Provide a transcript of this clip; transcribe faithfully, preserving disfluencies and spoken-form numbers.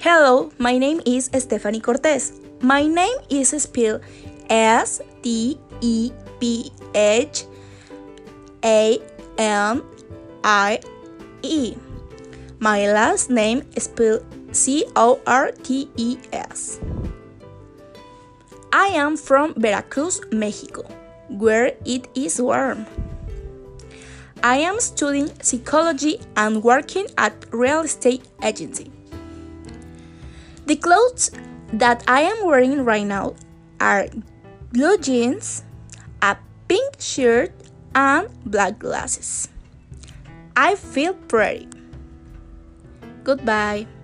Hello, my name is Stephanie Cortez. My name is spelled S T E P H A N I E. My last name is spelled C O R T E S. I am from Veracruz, Mexico, where it is warm. I am studying psychology and working at real estate agency. The clothes that I am wearing right now are blue jeans, a pink shirt, and black glasses. I feel pretty. Goodbye.